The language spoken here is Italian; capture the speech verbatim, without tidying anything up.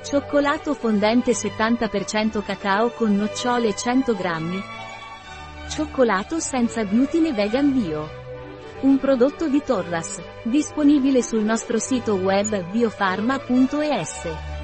Cioccolato fondente settanta per cento cacao con nocciole cento grammi. Cioccolato senza glutine vegan bio. Un prodotto di Torras, disponibile sul nostro sito web biofarma punto es.